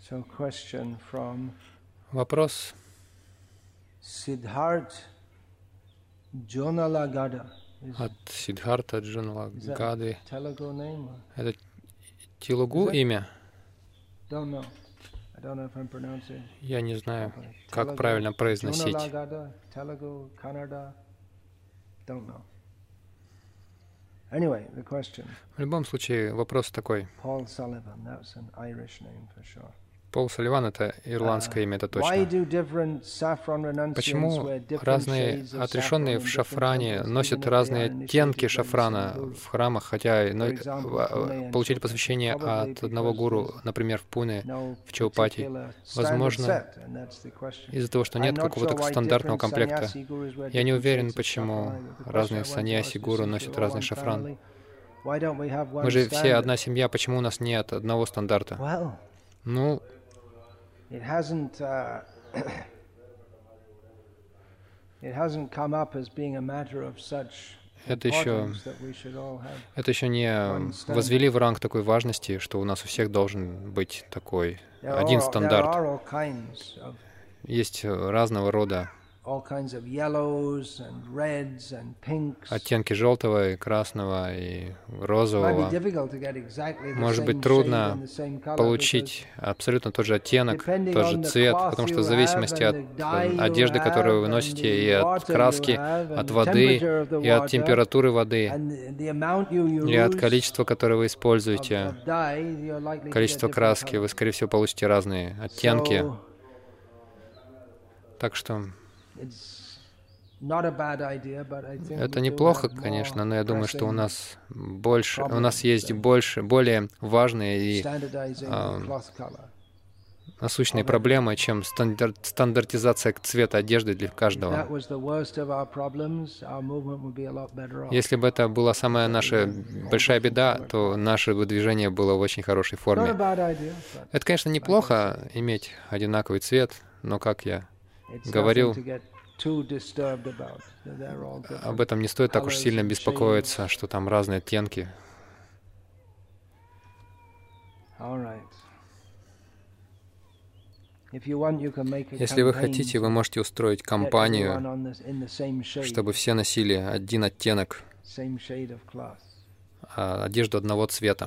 Вопрос от Сиддхарта Джуналагады. Это телугу имя? Я не знаю, как правильно произносить. В любом случае, вопрос такой. Пол Салливан — это ирландское имя, это точно. Почему разные отрешенные в шафране носят разные оттенки шафрана в храмах, хотя получили посвящение от одного гуру, например, в Пуне, в Чаупати? Возможно, из-за того, что нет какого-то стандартного комплекта. Я не уверен, почему разные саньяси, гуру носят разный шафран. Мы же все одна семья, почему у нас нет одного стандарта? Ну, это еще не возвели в ранг такой важности, что у нас у всех должен быть такой один стандарт. Есть разного рода оттенки желтого и красного и розового. Может быть трудно получить абсолютно тот же оттенок, тот же цвет, потому что в зависимости от одежды, которую вы носите, и от краски, от воды, и от температуры воды, и от количества, которое вы используете, количество краски, вы, скорее всего, получите разные оттенки. Так что это неплохо, конечно, но я думаю, что у нас есть более важные и насущные проблемы, чем стандартизация цвета одежды для каждого. Если бы это была самая наша большая беда, то наше движение было в очень хорошей форме. Это, конечно, неплохо иметь одинаковый цвет, но, как я говорил, об этом не стоит так уж сильно беспокоиться, что там разные оттенки. Если вы хотите, вы можете устроить кампанию, чтобы все носили один оттенок, одежду одного цвета.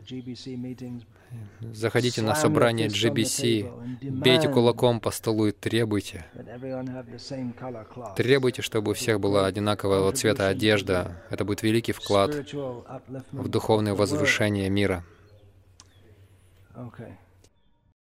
Заходите на собрание GBC, бейте кулаком по столу и требуйте. Требуйте, чтобы у всех была одинакового цвета одежда. Это будет великий вклад в духовное возвышение мира.